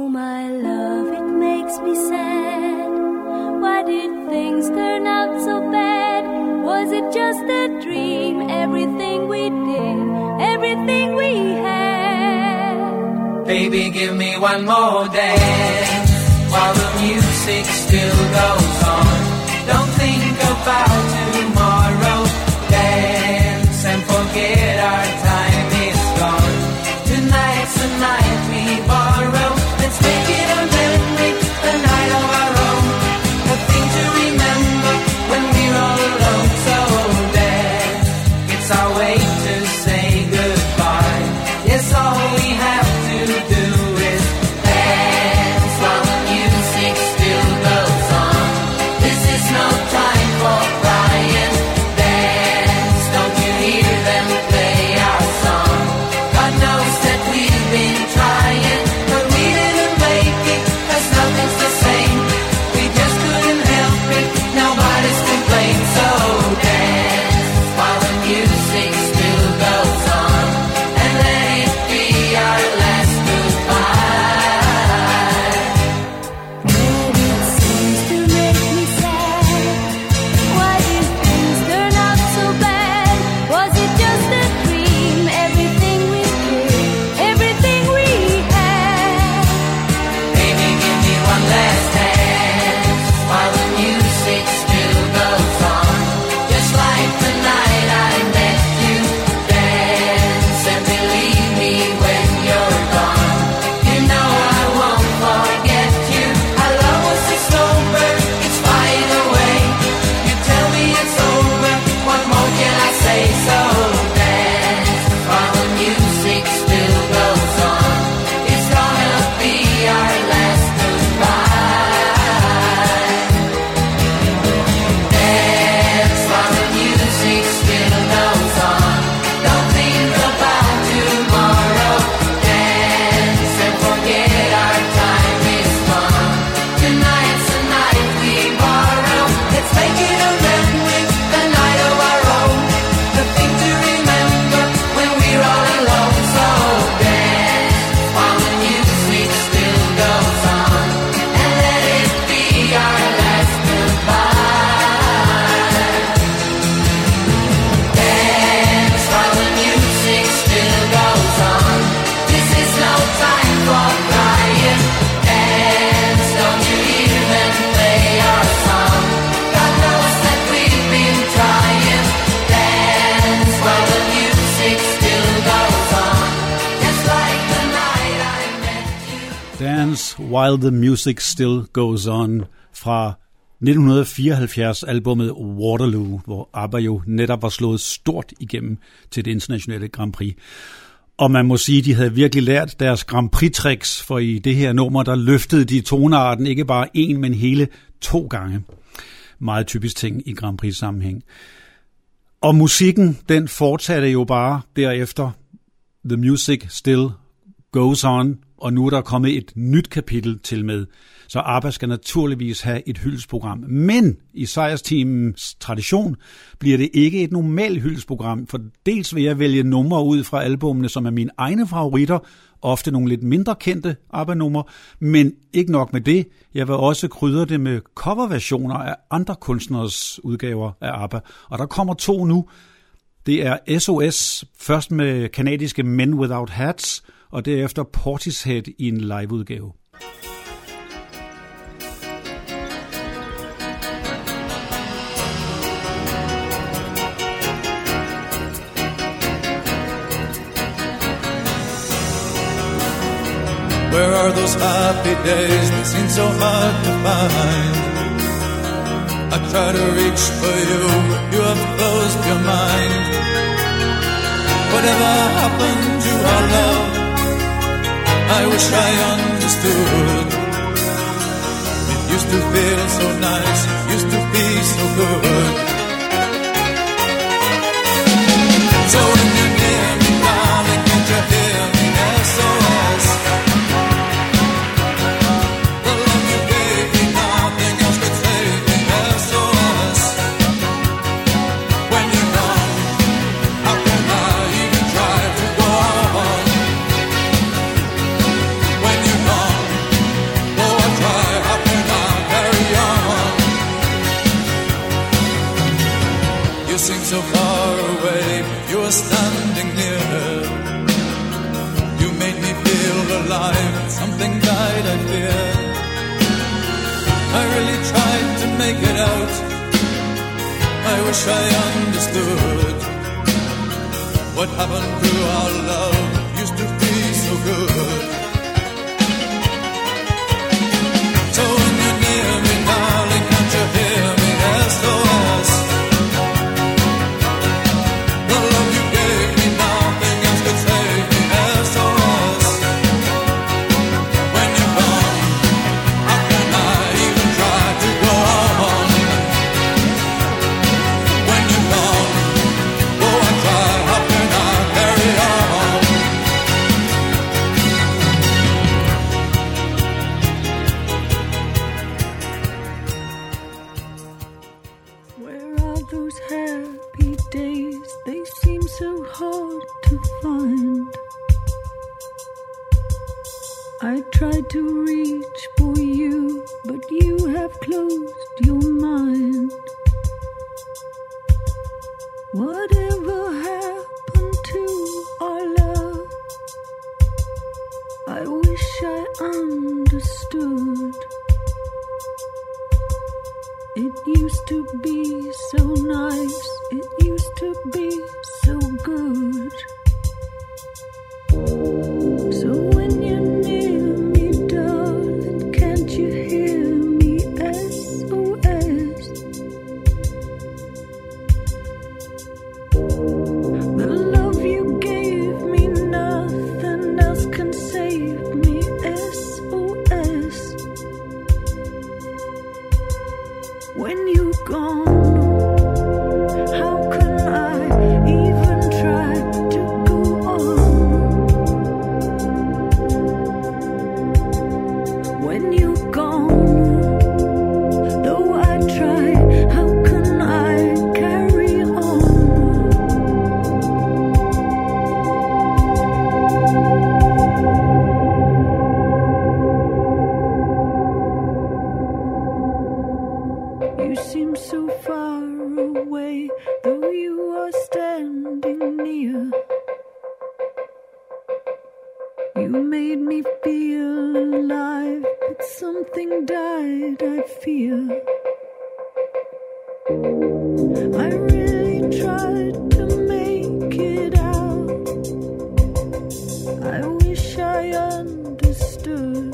Oh my love, it makes me sad. Why did things turn out so bad? Was it just a dream? Everything we did, everything we had. Baby, give me one more dance while the music still goes on. Don't think about tomorrow. Dance and forget our time is gone. Tonight's the night we borrow. Let's make it a memory, a night of our own. A thing to remember when we're all alone. So dance, it's our way to say goodbye. Yes, all we have to do is dance while the music still goes on. This is no time for crying. Dance, don't you hear them play our song? God knows that we've been trying, but we didn't make it, 'cause nothing's the same. We just couldn't help it, nobody's to blame. So dance while the music still goes on, and let it be our last goodbye. But it seems to make me sad. Why did things turn out so bad? Was it just a dream? Everything we did, everything we had. Baby, give me one last dance while the music still goes on. Just like the night I met you. Dance and believe me when you're gone. You know I won't forget you. Our love was a slow burn, it's flying away. You tell me it's over, what more can I say? So dance while the music still goes on. It's gonna be our last goodbye. Dance while the music still goes on. Don't think about tomorrow. Dance and forget our time is gone. Tonight's the night we borrow. Let's make it a memory, a night of our own. The thing to remember when we're all alone. So dance while the music still goes on, and let it be our last goodbye. Dance while the music still goes on. This is no time for crying. Dance, don't you hear them play our song? God knows that we've been trying. Dance while the music still goes on. Just like the night I met you. Dance While the Music Still Goes On fra 1974-albummet Waterloo, hvor ABBA jo netop var slået stort igennem til det internationale Grand Prix. Og man må sige, at de havde virkelig lært deres Grand Prix-tricks, for i det her nummer, der løftede de tonearten ikke bare én, men hele 2 gange. Meget typisk ting i Grand Prix-sammenhæng. Og musikken, den fortsatte jo bare derefter. The Music Still Goes On, og nu er der kommet et nyt kapitel til med. Så ABBA skal naturligvis have et hyldesprogram. Men i sejrsteamens tradition bliver det ikke et normalt hyldesprogram, for dels vil jeg vælge numre ud fra albumene, som er mine egne favoritter, ofte nogle lidt mindre kendte ABBA-numre, men ikke nok med det. Jeg vil også krydre det med coverversioner af andre kunstneres udgaver af ABBA, og der kommer 2 nu. Det er SOS, først med kanadiske Men Without Hats, og derefter Portishead i en liveudgave. Where are those happy days that seem so hard to find? I try to reach for you, but you have closed your mind. Whatever happened to our love? I wish I understood. It used to feel so nice, it used to be so good. So when you're near me, darling, can't you hear me? SOS. The love you gave me, nothing else could save me. SOS. When you're gone, how can I even try to go on? When you're gone, so far away, you were standing near. You made me feel alive, something died, I fear. I really tried to make it out, I wish I understood what happened to our love, used to be so good. So when you're near me, darling, can't you hear me? SOS. The love you gave me, nothing else could save me. SOS. When you're gone, how can I even try to go on? When you're gone, oh I try, how can I carry on? Where are those happy days? They seem so hard to find. I tried to reach for you, but you have closed your mind. Whatever happened to our love? I wish I understood. It used to be so nice, it used to be so good. So when you're near me, darling, can't you hear me? SOS. The love you gave me, nothing else can save me. SOS. When you're gone, how can I even try to go on? When you're gone, though I try, how can I carry on? You seem so far away, though you are standing near. You made me feel alive, but something died, I fear. I really tried to make it out. I wish I understood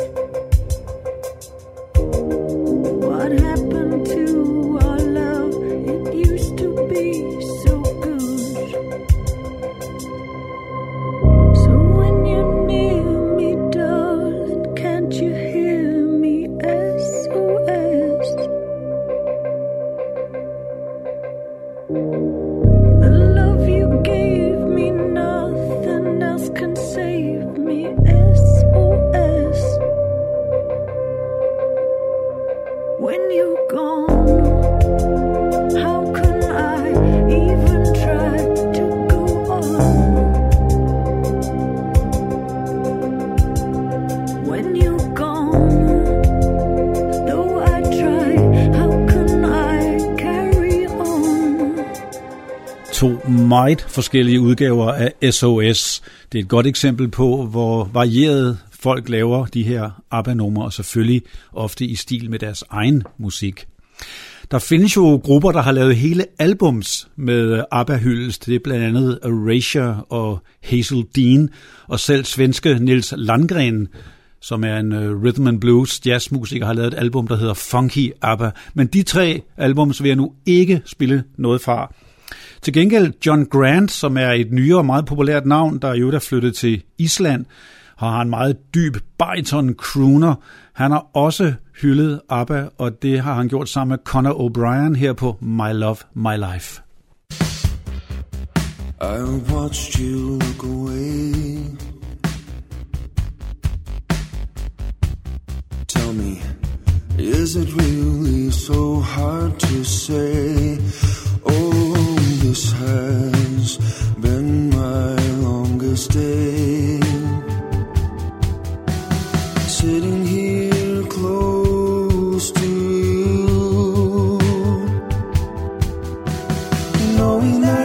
what happened to our love. It used to be so good. So when you're near me, darling, can't you hear me? SOS. The love you gave me, nothing else can save me. SOS. When you're gone, how can I even try to go on? When you're gone, though I try, how can I carry on? To meget forskellige udgaver af SOS. Det er et godt eksempel på, hvor varieret folk laver de her ABBA-numre, og selvfølgelig ofte i stil med deres egen musik. Der findes jo grupper, der har lavet hele albums med ABBA-hyldest. Det er blandt andet Erasure og Hazel Dean, og selv svenske Nils Landgren, som er en rhythm and blues jazzmusiker, har lavet et album, der hedder Funky ABBA. Men de tre albums vil jeg nu ikke spille noget fra. Til gengæld John Grant, som er et nyere og meget populært navn, der jo er flyttet til Island, har en meget dyb bariton crooner. Han har også hyldet ABBA, og det har han gjort sammen med Conor O'Brien her på My Love, My Life. I watched you look away. Tell me, is it really so hard to say? Oh, this has been my longest day. Sitting here close to you, knowing that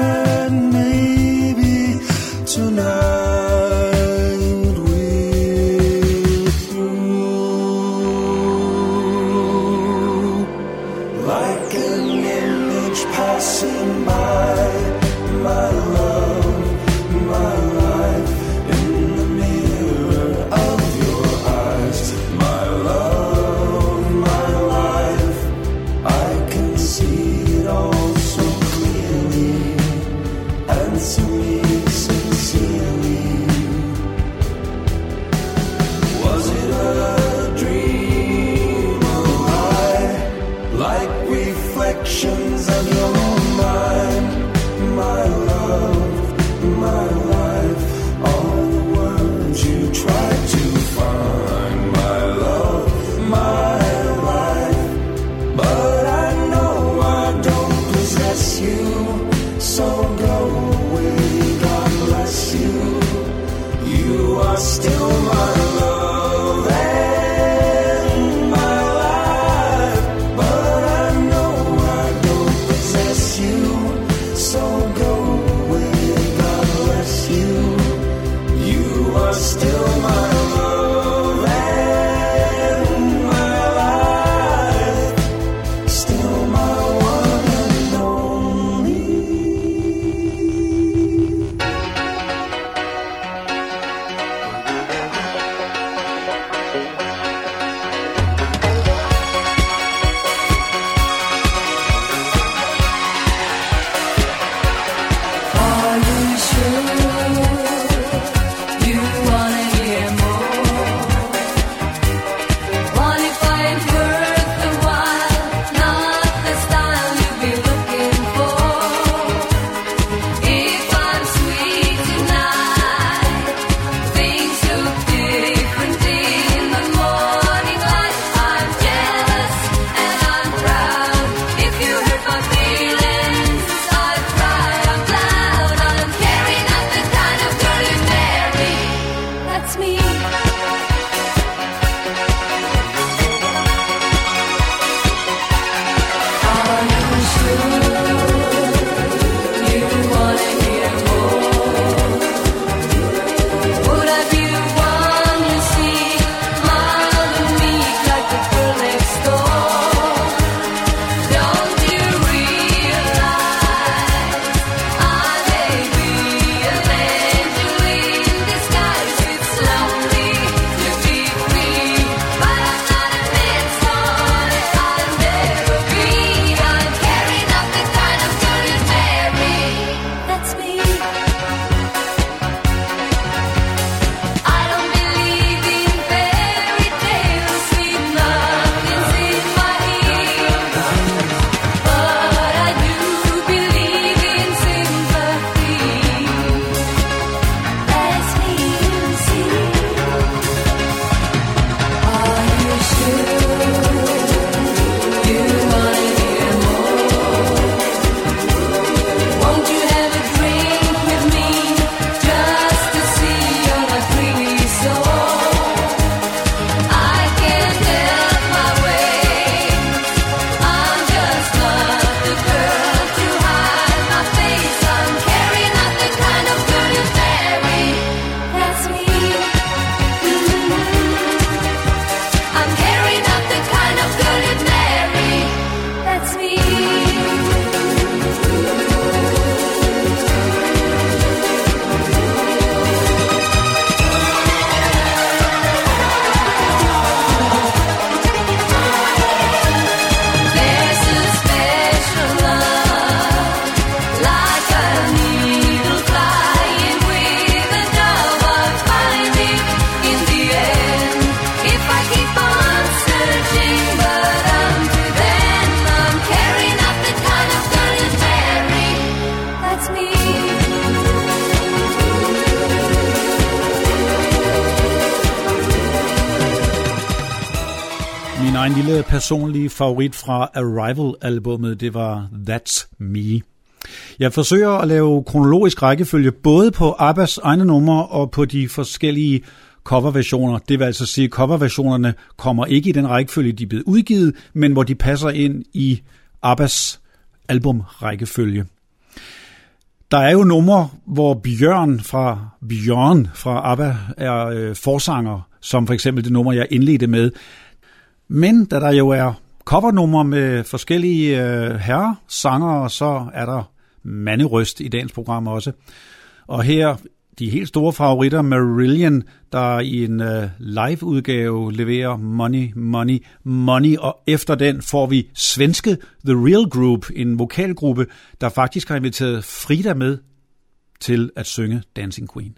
Min egen lille personlige favorit fra Arrival-albummet, det var That's Me. Jeg forsøger at lave kronologisk rækkefølge både på ABBAs egne numre og på de forskellige coverversioner. Det vil altså sige, at coverversionerne kommer ikke i den rækkefølge, de er blevet udgivet, men hvor de passer ind i ABBAs albumrækkefølge. Der er jo numre, hvor Bjørn fra ABBA er forsanger, som for eksempel det nummer, jeg indledte med. Men da der jo er covernumre med forskellige herresangere, så er der manderøst i dagens program også. Og her de helt store favoritter, Marillion, der i en live-udgave leverer Money, Money, Money, og efter den får vi svenske The Real Group, en vokalgruppe, der faktisk har inviteret Frida med til at synge Dancing Queen.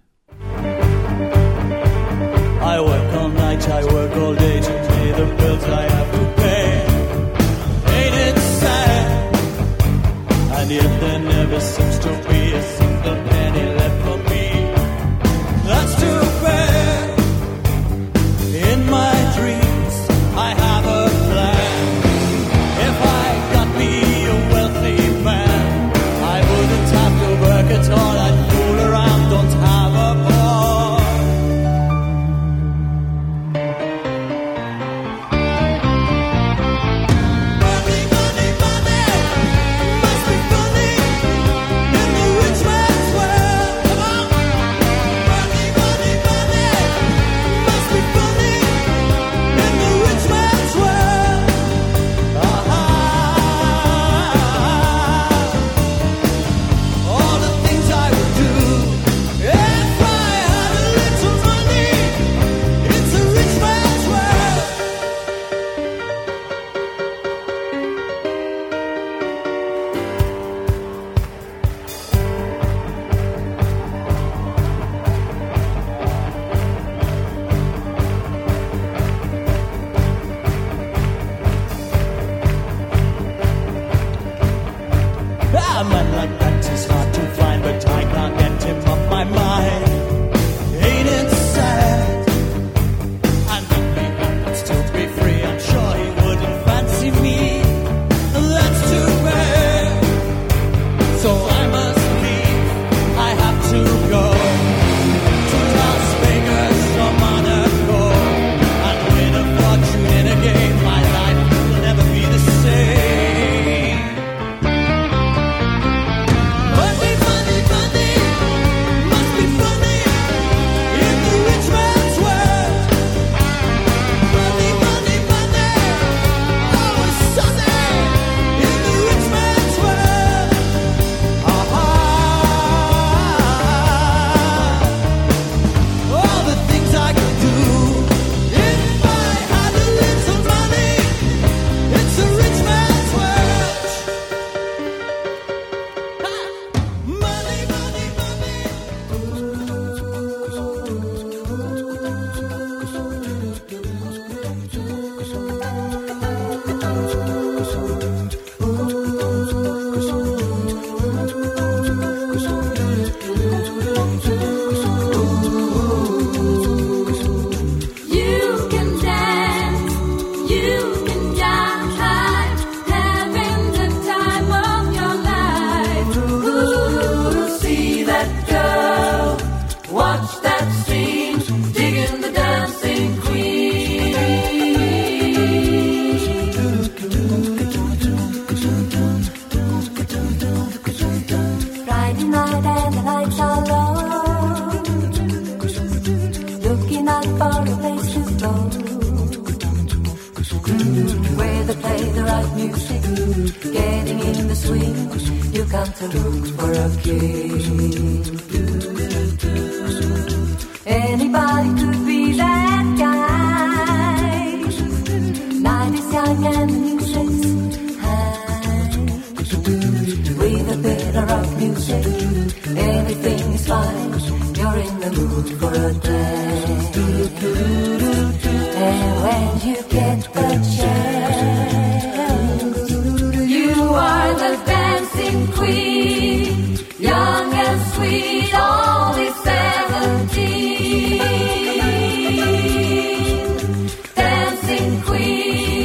I work all night, I work all day to pay the bills I have to pay. Ain't it sad? And yet there never seems to be a single penny left for me. That's too bad. In my dreams, I have a plan. If I got me a wealthy man, I wouldn't have to work at all. I'd fool around, don't have a ball. Money, money, money, must be funny in the rich man's world. Come on. Money, money, money, must be funny in the rich man's world. All the things I would do if I had a little money. It's a rich man's world. A man like that is hard to find, but I can't get him off my mind. Ain't it sad? And if he happens to be free, I'm sure he wouldn't fancy me. That's too bad. So I must leave. I have to go to Las Vegas or Monaco and win a fortune in a game. My life will never be the same. Money, money, money, must be funny in the rich man's world. Money, money, money, always sunny in the rich man's world. All the things I could do if I had a little money. It's a rich man's world. Money, money, money. You can dance, you can jive, having the time of your life. Ooh, see that girl, watch that scene, digging the dancing queen. Friday night and the lights are low, looking out for a place to go, where they play the right music, getting in the swing. You come to look for a king. Anybody could be that guy. Night is young and the music's high. With a bit of rock music, everything is fine. You're in the mood for a dance. And when you get the chance, you are the dancing queen, young and sweet, only 17. Dancing queen.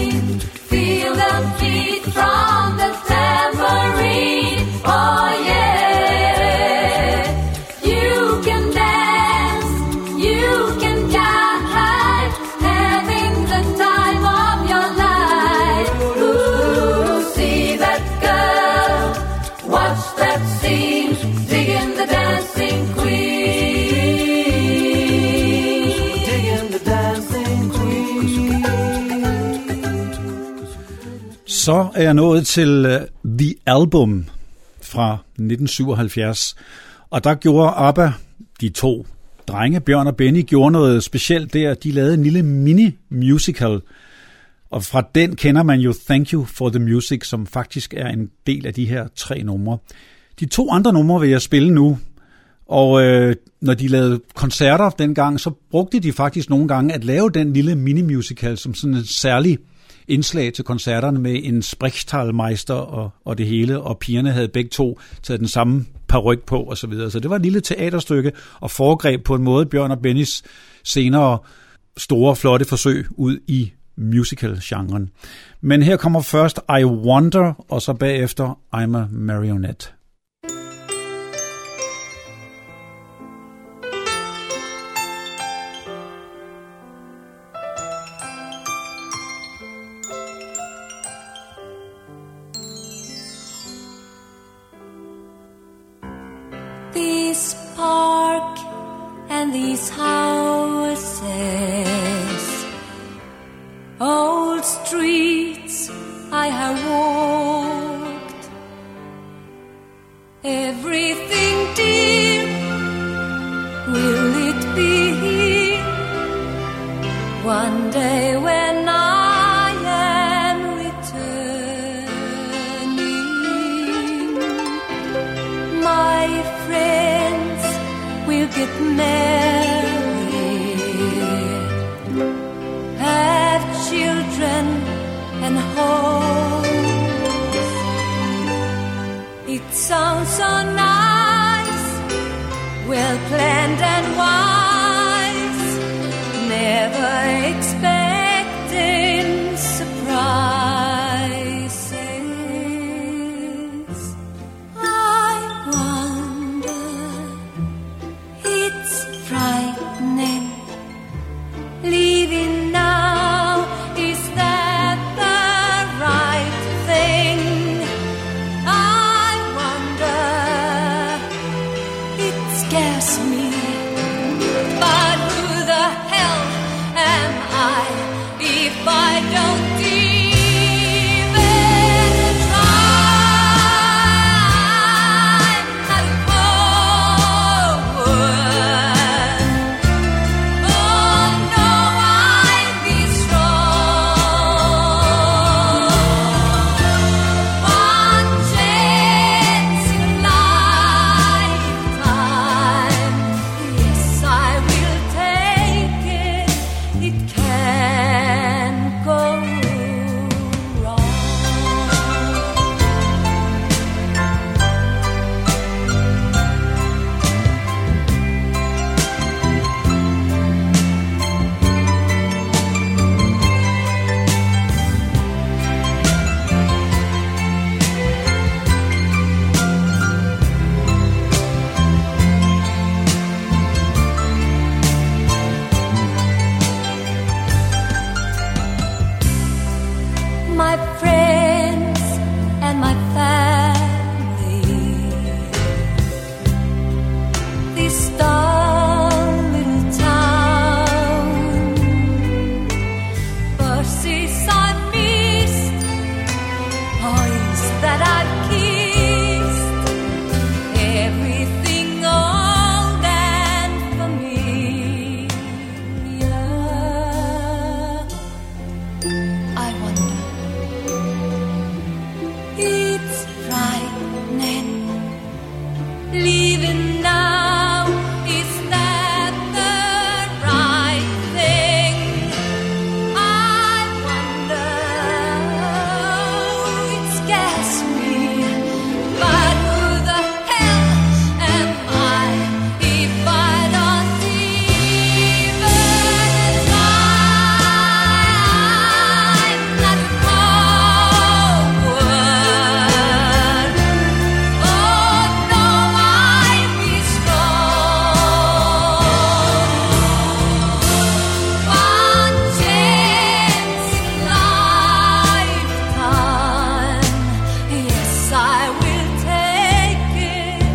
Så er jeg nået til The Album fra 1977, og der gjorde ABBA, de to drenge, Bjørn og Benny, gjorde noget specielt der. De lavede en lille mini-musical, og fra den kender man jo Thank You for the Music, som faktisk er en del af de her 3 numre. De 2 andre numre vil jeg spille nu, og når de lavede koncerter dengang, så brugte de faktisk nogle gange at lave den lille mini-musical som sådan en særlig indslag til koncerterne med en Sprechtalmeister og det hele, og pigerne havde begge to taget den samme paryk på og så videre. Så det var et lille teaterstykke og foregreb på en måde Bjørn og Bennys senere store, flotte forsøg ud i musical-genren. Men her kommer først I Wonder, og så bagefter I'm a Marionette. This park and these houses, old streets I have walked, everything dear, will it be here one day when I am returning? My friends will get married, have children and homes. It sounds so nice, well planned and wise, never expecting surprises. I wonder, it's frightening, leaving now, is that the right thing? I wonder, it scares me, but who the hell am I if I don't even try? Not forward. Oh no, I'll be strong. One chance in a lifetime, yes I will take it. It can't go wrong. My friends and my family, this dull little town, buses I've missed, boys that I've kissed, everything old and familiar. I wonder, it's frightening, leaving now, is that the right thing? I wonder, it scares me, but who the hell am I if I don't even try? Not forward. Oh no, I'll be strong. One chance in a lifetime, yes I will take it.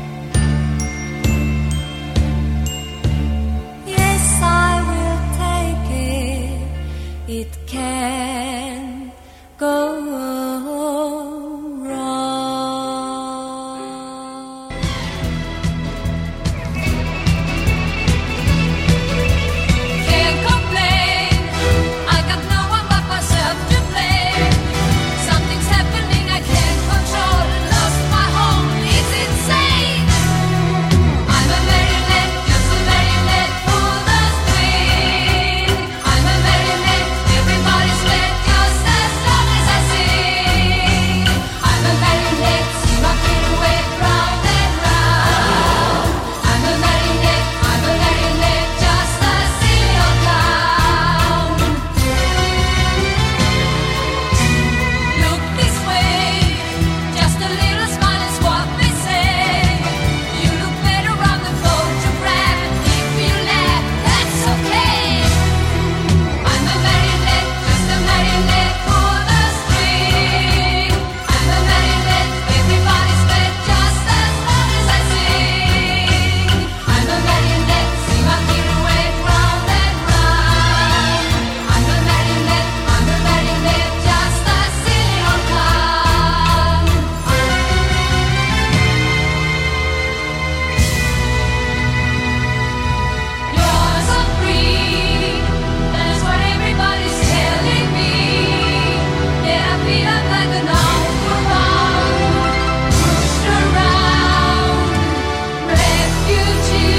Yes I will take it. It can go wrong. Can't complain, I got no one but myself to blame. Something's happening I can't control, lost my home, it's insane. I'm a marionette, just a marionette for the string. I'm a marionette, everybody's led just as long as I sing. I'm a marionette, see my pirouette round and round. I'm a marionette, just a silly old clown. Look this way, just a little smile is what they say. You look better on the photograph, and if you laugh, that's okay. I'm a marionette, just a marionette for the string. I'm a marionette, everybody's led just as long as I sing. I'm a marionette, see my pirouette round and round. I'm a marionette, just a silly old clown. You're so free, that's what everybody's telling me. Yet I feel like an outlaw, pushed around, refugee.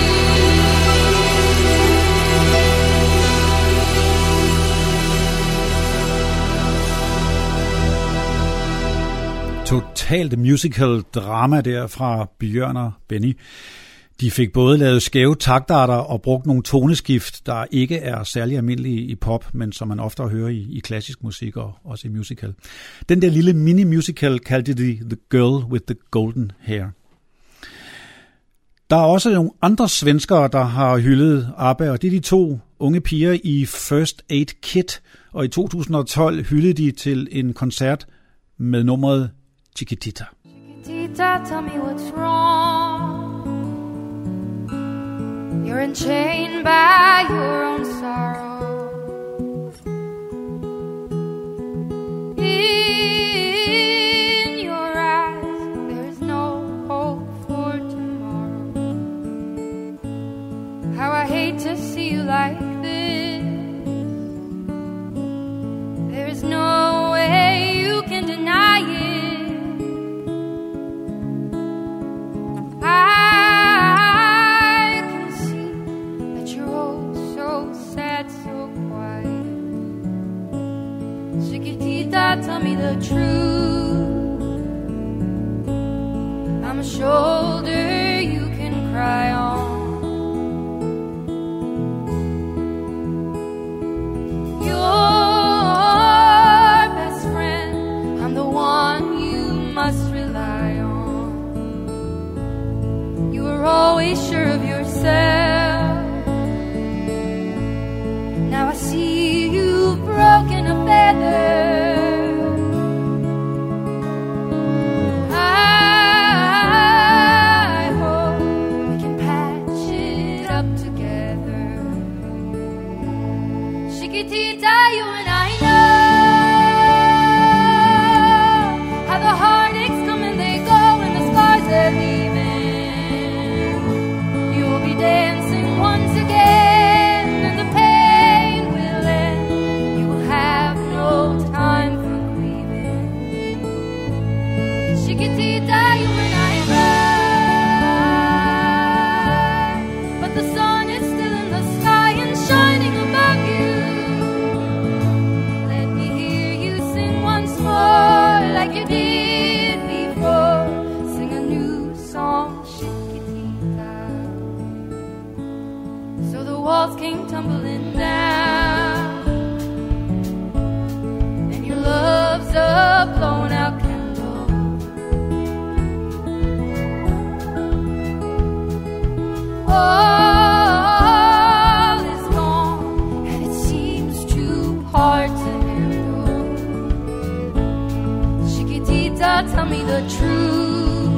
Totalt musical drama der fra Bjørn og Benny. De fik både lavet skæve taktarter og brugt nogle toneskift, der ikke er særlig almindelige i pop, men som man ofte hører i klassisk musik og også i musical. Den der lille mini-musical kaldte de The Girl with the Golden Hair. Der er også nogle andre svenskere, der har hyldet ABBA, og det er de to unge piger i First Aid Kit, og i 2012 hyldede de til en koncert med nummeret Chiquitita. Tita, tell me what's wrong. You're enchained by your own sorrow. In your eyes, there is no hope for tomorrow. How I hate to see you like this. There is no way you can deny it. I can see that you're oh so sad, so quiet. Chiquitita, tell me the truth. I'm a shoulder you can cry on. Your best friend, I'm the one you must rely on. You were always sure of yourself. Now I see you've broken a feather. I hope we can patch it up together. Chiquitita, you and I know how the heartaches come and they go and the scars are leaving. You will be dancing once again and the pain will end. You will have no time for grieving. Chiquitita, you and I ride, but the sun is still in the sky and shining above you. Let me hear you sing once more like you did before. Sing a new song, Chiquitita, so the walls came tumbling down and your love's a blown out candle. All is gone and it seems too hard to handle. Chiquitita, tell me the truth.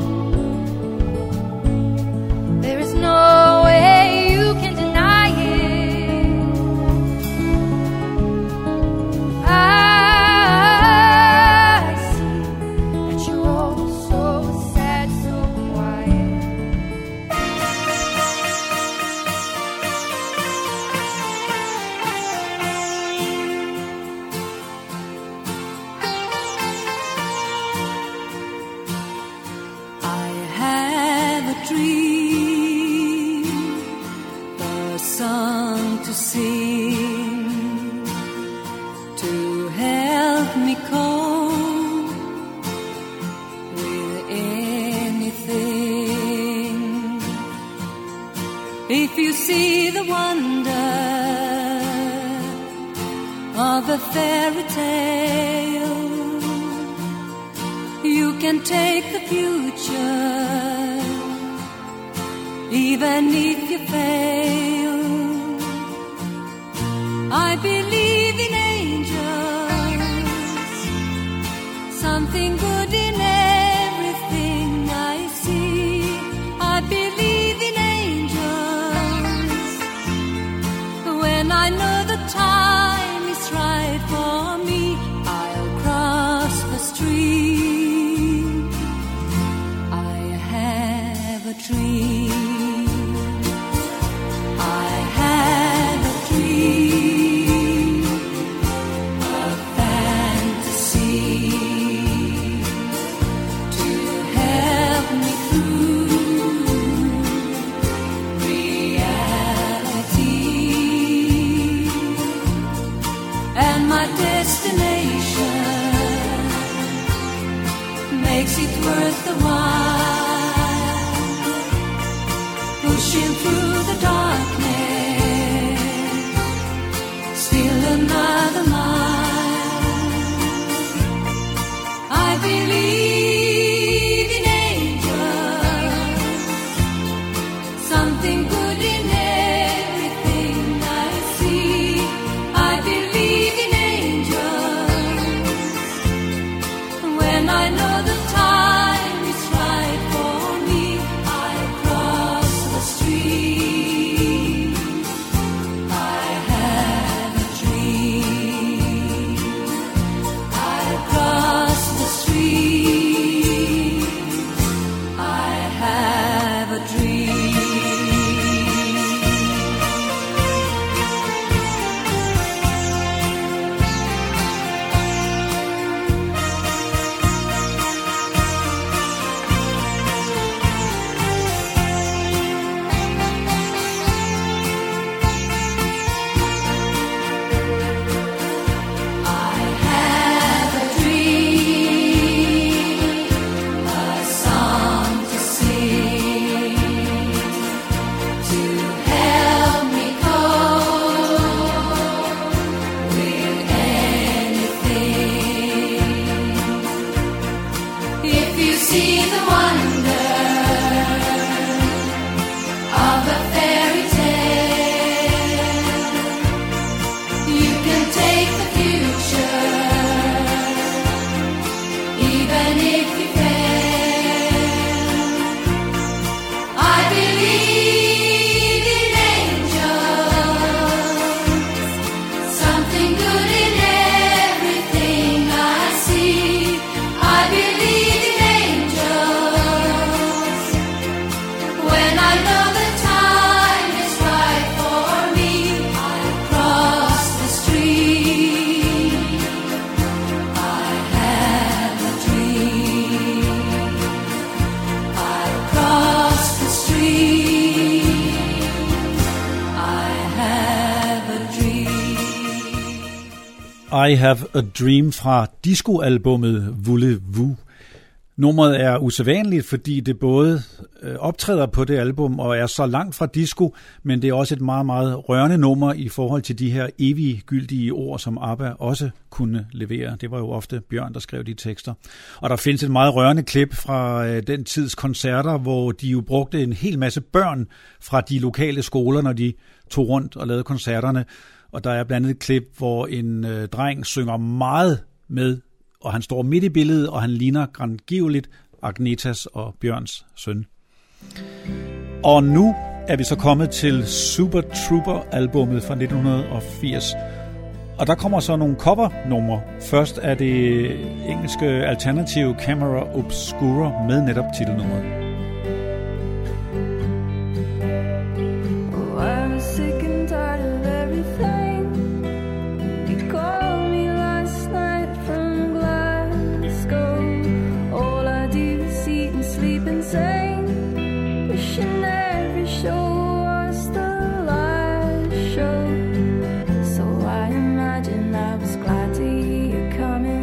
There is no way you can deny it. I help me cope with anything. If you see the wonder of a fairy tale, you can take the future, even if you fail. I believe in angels, something good in everything I see. I believe in angels when I know the time is right for me. I'll cross the street. I have a dream. I have a dream, a fantasy to help me through reality. And my destination makes it worth the while, pushing through the darkness, still another mile. I believe in angels, something good in everything I see. I believe in angels when I know the time is right for me. I cross the street. I have a dream. I cross the street. I have a dream. I have a dream, a song to sing, to help me cope with anything. If you see the wonder of a fairy tale, you can take the future, even if you fail. I believe in angels, something good in everything I see. I believe in angels when I know the time is right for me. I cross the street. I have a dream. I cross the street. I have a dream. I Have a Dream fra disco-albummet Voulez-Vous. Nummeret er usædvanligt, fordi det både optræder på det album og er så langt fra disco, men det er også et meget, meget rørende nummer i forhold til de her eviggyldige ord, som ABBA også kunne levere. Det var jo ofte Bjørn, der skrev de tekster. Og der findes et meget rørende klip fra den tids koncerter, hvor de jo brugte en hel masse børn fra de lokale skoler, når de tog rundt og lavede koncerterne. Og der er blandt andet et klip, hvor en dreng synger meget med, og han står midt i billedet, og han ligner grandgiveligt Agnetas og Bjørns søn. Og nu er vi så kommet til Super Trooper-albummet fra 1980. Og der kommer så nogle cover-numre. Først er det engelske alternative Camera Obscura med netop titelnummeret. Oh, I was sick and tired of everything. You called me last night from Glasgow. All I do is eat and sleep insane. Wishing every show was the last show. So I imagine I was glad to hear you coming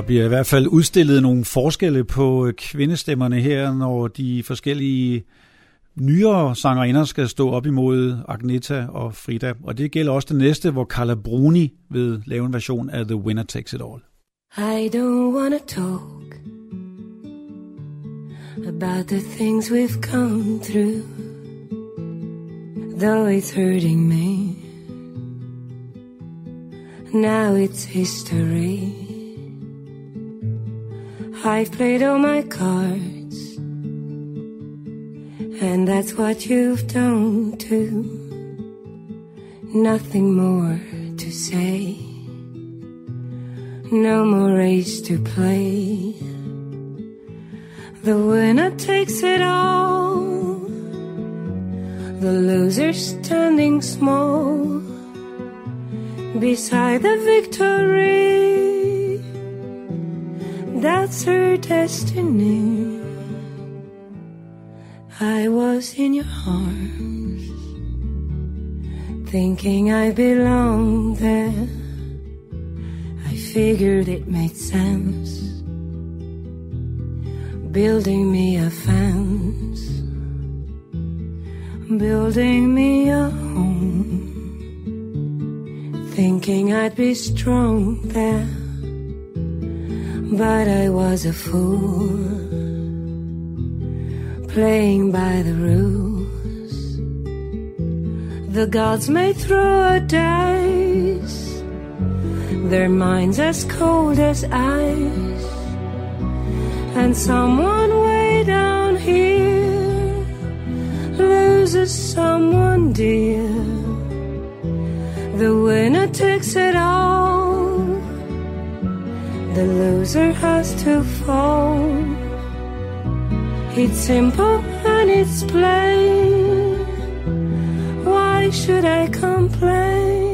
Der bliver i hvert fald udstillet nogle forskelle på kvindestemmerne her, når de forskellige nyere sangerinder skal stå op imod Agnetha og Frida. Og det gælder også det næste, hvor Carla Bruni vil lave en version af The Winner Takes It All. I don't wanna talk about the things we've come through, though it's hurting me. Now it's history. I've played all my cards, and that's what you've done too. Nothing more to say, no more race to play. The winner takes it all, the loser standing small beside the victory. That's her destiny. I was in your arms, thinking I belonged there. I figured it made sense, building me a fence, building me a home, thinking I'd be strong there. But I was a fool, playing by the rules. The gods may throw a dice, their minds as cold as ice, and someone way down here loses someone dear. The winner takes it all, the loser has to fall. It's simple and it's plain. Why should I complain?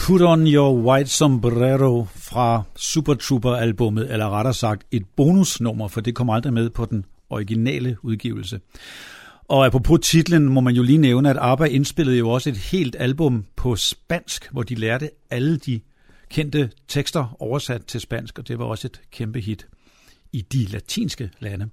Put on your white sombrero fra Super Trooper-albummet, eller rettere sagt et bonusnummer, for det kom aldrig med på den originale udgivelse. Og apropos titlen, må man jo lige nævne, at ABBA indspillede jo også et helt album på spansk, hvor de lærte alle de kendte tekster oversat til spansk, og det var også et kæmpe hit i de latinske lande.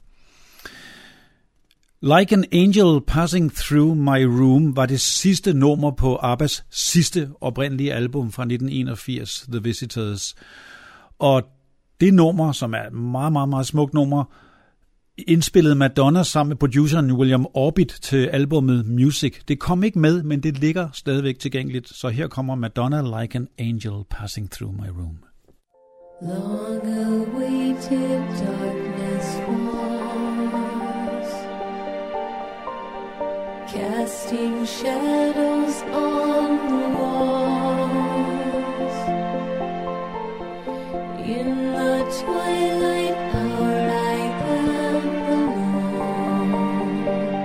Like an Angel Passing Through My Room var det sidste nummer på ABBAs sidste oprindelige album fra 1981, The Visitors. Og det nummer, som er et meget, meget, meget smukt nummer, indspillede Madonna sammen med produceren William Orbit til albummet Music. Det kom ikke med, men det ligger stadigvæk tilgængeligt. Så her kommer Madonna Like an Angel Passing Through My Room. Long awaited darkness falls, casting shadows on the walls. In the twilight hour I am alone,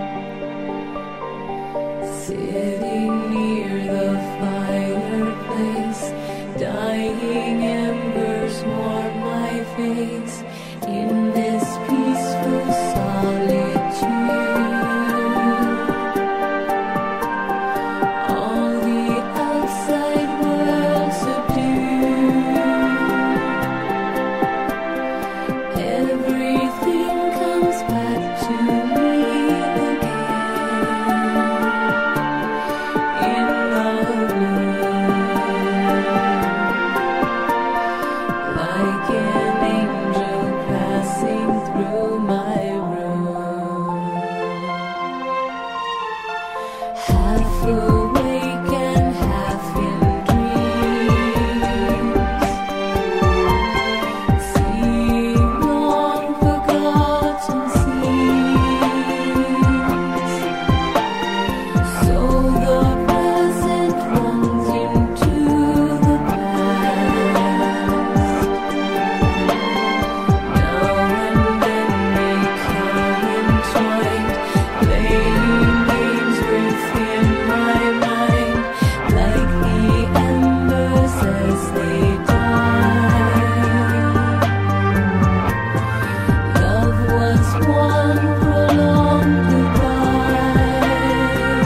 sitting near the fireplace, dying embers warm my face in this peaceful solitude. All the outside world subdued. Everything comes back to me again in the blue. Like an angel passing through my room, half awake and half in dreams, seeing long forgotten scenes. So the present runs into the past. Now and then we come entwined, playing games within my mind, like the embers as they die. Love was one prolonged goodbye,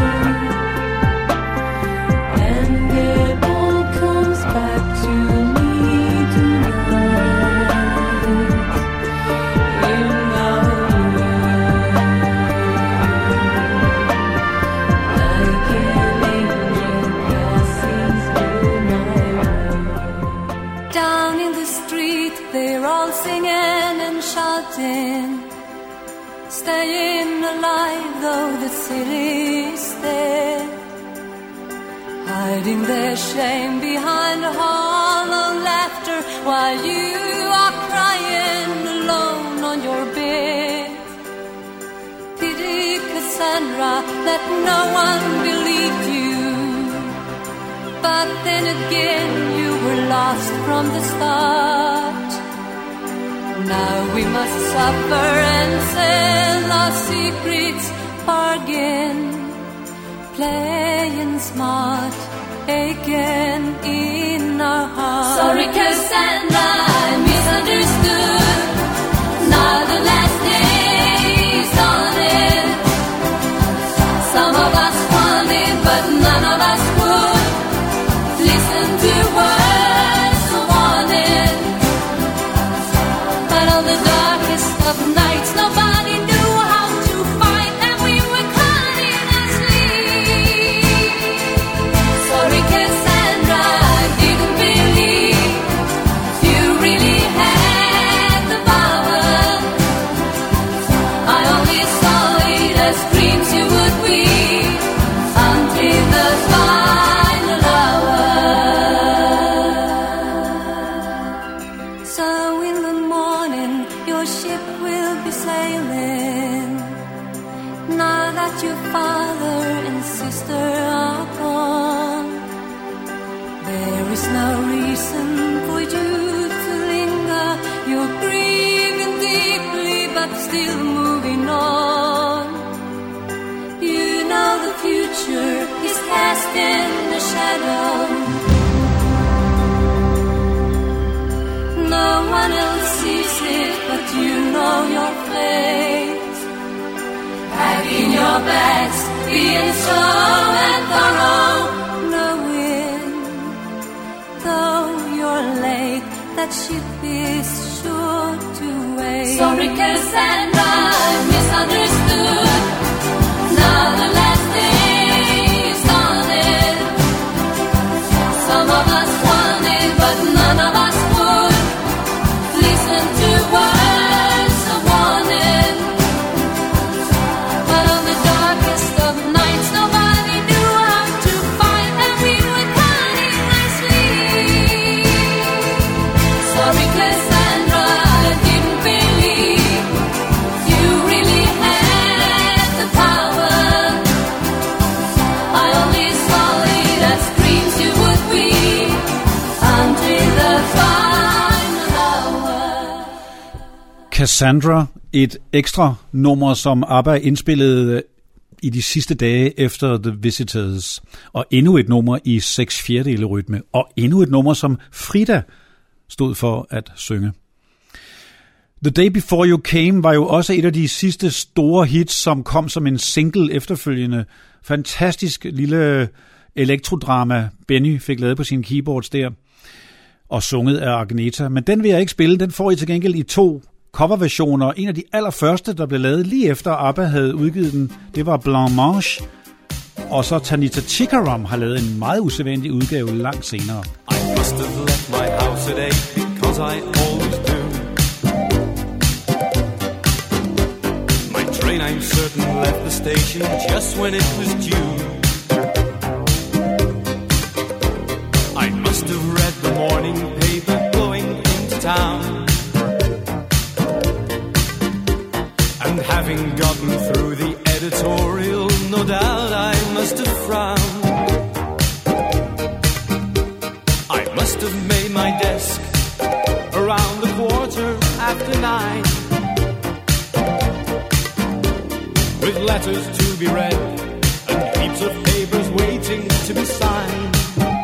and it all comes back to me tonight in the blue. Like an angel passing through my room. Down in the street, they're all singing and shouting, staying alive though the city's dead, hiding their shame behind a hollow laughter while you are crying alone on your bed. Pity Cassandra that no one believed you, but then again you were lost from the start. Now we must suffer and sell our secrets, bargain, playing smart again in our hearts. Sorry Cassandra, I misunderstood. Now the last day's on it. Some of us wanted, but none of us would listen to words of warning. But on the darkest of nights, nobody knew how to fight, and we were caught in a sleep. Sorry, Cassandra, I didn't believe you really had the power. I only saw it as dreams you would weave until the final hour. So in the morning, your ship will be sailing. Now that your father and sister are gone, there is no reason for you to linger. You're grieving deeply, but still moving on. You know the future is cast in the shadow. No one else sees it, but you know your place. Packing your bags, being slow and thorough, knowing though you're late, that ship is sure to wait. Sorry, Cassandra, I misunderstood. Now the last thing is started. Some of us wanted, but none of us would listen to words of warning. But on the darkest of nights, nobody knew how to fight, and we were crying our sleep. Sorry, Cassandra, I didn't believe you really had the power. I only saw it as dreams you would weave until the final hour. Cassandra, et ekstra nummer, som ABBA indspillede i de sidste dage efter The Visitors, og endnu et nummer i 6/4 rytme, og endnu et nummer, som Frida stod for at synge. The Day Before You Came var jo også et af de sidste store hits, som kom som en single efterfølgende. Fantastisk lille elektrodrama, Benny fik lavet på sine keyboards der, og sunget af Agneta. Men den vil jeg ikke spille, den får I til gengæld i 2 coverversioner. En af de allerførste, der blev lavet lige efter ABBA havde udgivet den, det var Blanc Mange. Og så Tanita Tikaram har lavet en meget usædvanlig udgave langt senere. I must have left my house at 8 because I always do. My train, I'm certain, left the station just when it was due. I must have read the morning paper going into town. And having gotten through the editorial, no doubt I must have frowned. I must have made my desk around the 9:15, with letters to be read and heaps of papers waiting to be signed.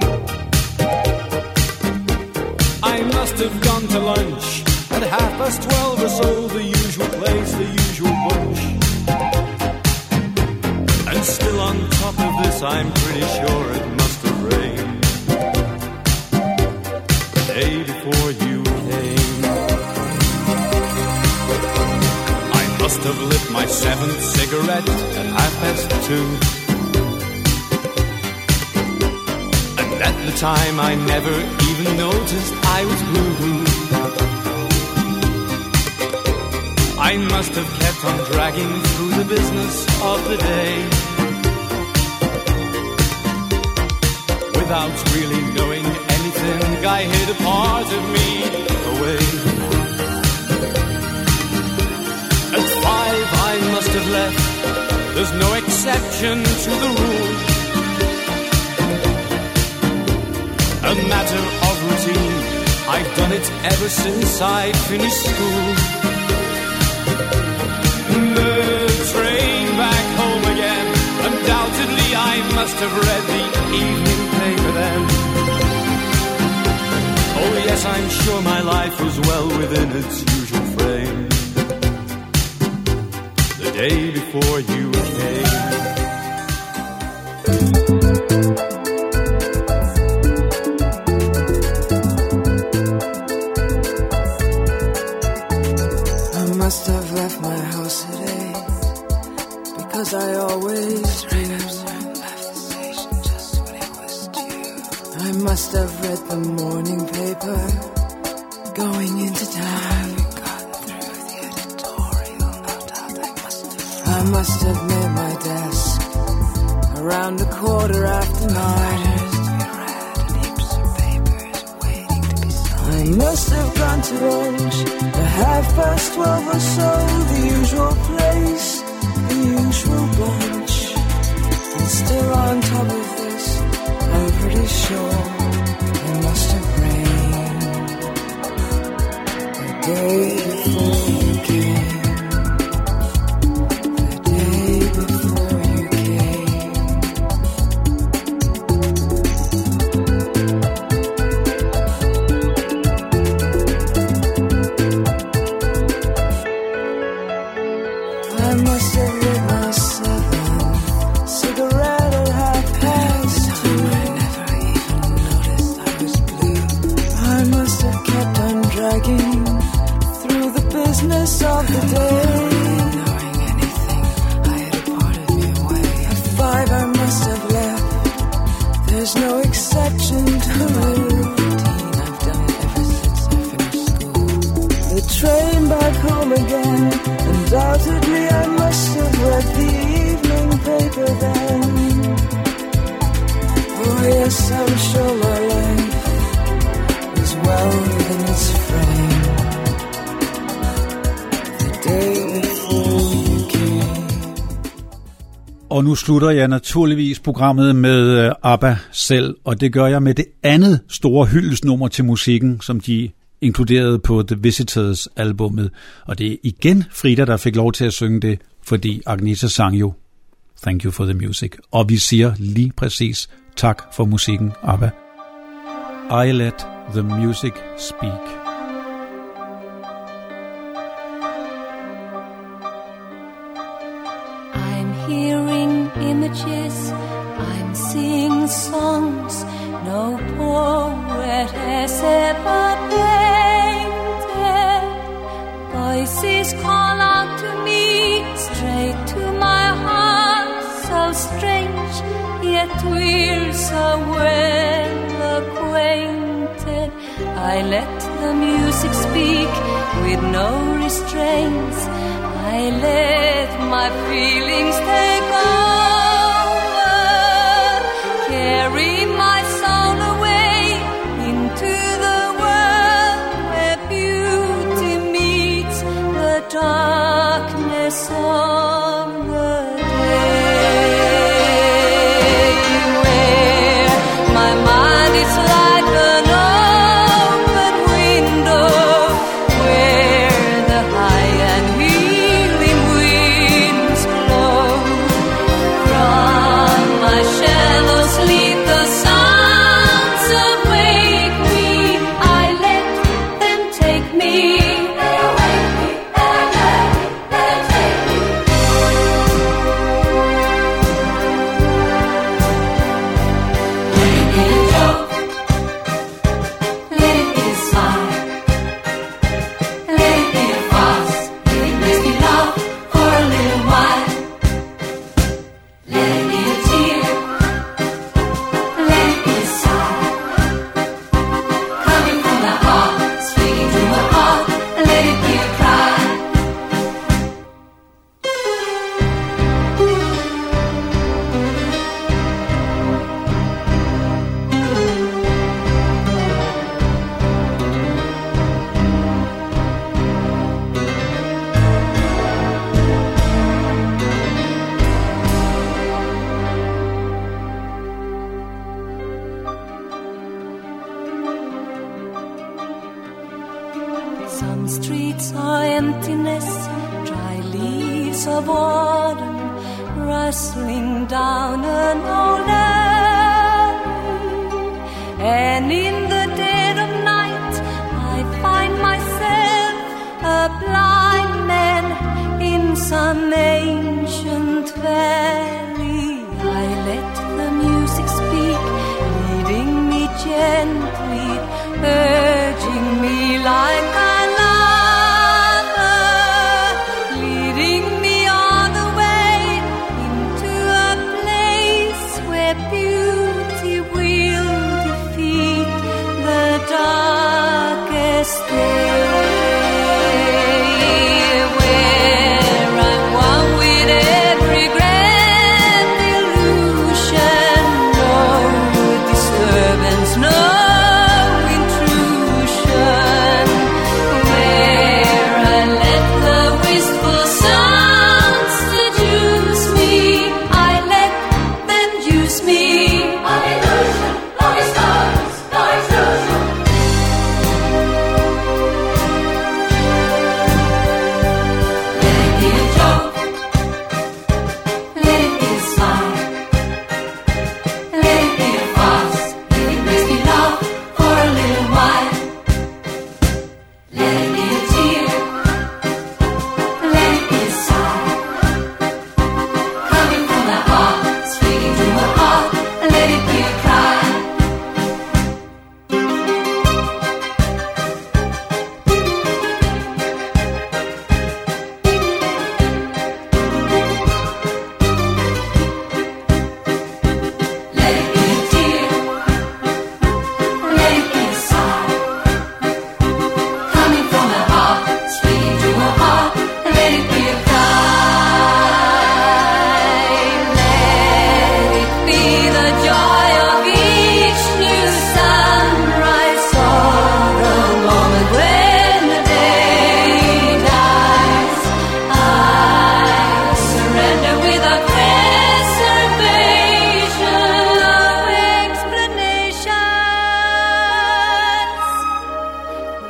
I must have gone to lunch at 12:30 or so, the usual place, the usual bunch. And still on top of this, I'm pretty sure it must have rained the day before you came. I must have lit my 7th cigarette at 2:30. And at the time, I never even noticed I was blue. I must have kept on dragging through the business of the day, without really knowing anything. I hid a part of me away. At 5 I must have left. There's no exception to the rule. A matter of routine, I've done it ever since I finished school. The train back home again. Undoubtedly I must have read the evening paper then. Oh yes, I'm sure my life was well within its usual frame the day before you came. I must have left my house at 8 because I always do. I must have read the morning paper going into town. I must have made my desk around 9:15. I must have gone to lunch at 12:30 or so, the usual place, the usual bunch. And still on top of this, I'm pretty sure it must have rained the day before you came. The day before you came. must have lit my 7 cigarette at 2:30. I never even noticed I was blue. I must have kept on dragging through the business of the day. Knowing anything, I had a part of me away. At 5 I must have left. There's no exception to the routine. I've done it ever since I finished school. The train back home again. Undoubtedly I must have read the evening paper then. Oh yes, I'm sure my life was well within its frame. The day before you came. Og nu slutter jeg naturligvis programmet med ABBA selv, og det gør jeg med det andet store hyldestnummer til musikken, som de inkluderet på The Visitors albummet. Og det er igen Frida, der fik lov til at synge det, fordi Agneta sang jo Thank You for the Music. Og vi siger lige præcis tak for musikken, ABBA. I let the music speak. I'm hearing images, I'm seeing songs no poet has ever painted. Voices call out to me, straight to my heart, so strange, yet we're so well acquainted. I let the music speak with no restraints. I let my feelings take over, carry my soul away into the world where beauty meets the darkness of the day, where my mind is like an open window, where the high and healing winds blow. From my shallow sleep the sounds awake me. I let them take me. They awake me, they let me, they take me. Let it be a joke, let it be a smile, let it be a fuss, let it make me laugh for a little while. Let it be a tear, let it be a sigh, coming from the heart, speaking to my heart. Let it be a cry. Some streets are emptiness, dry leaves of autumn rustling down an old alley. And in the dead of night I find myself a blind man in some ancient valley. I let the music speak, leading me gently, urging me like a lover, leading me all the way into a place where beauty will defeat the darkest day, where I'm one with every grand illusion, no disturbance, no intrusion.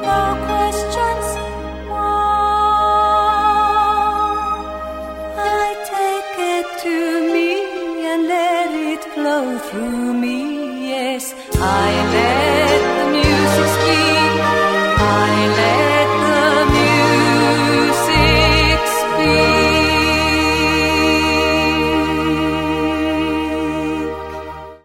no questions. I take it to me and let it flow through me. Yes, I let the music speak. I let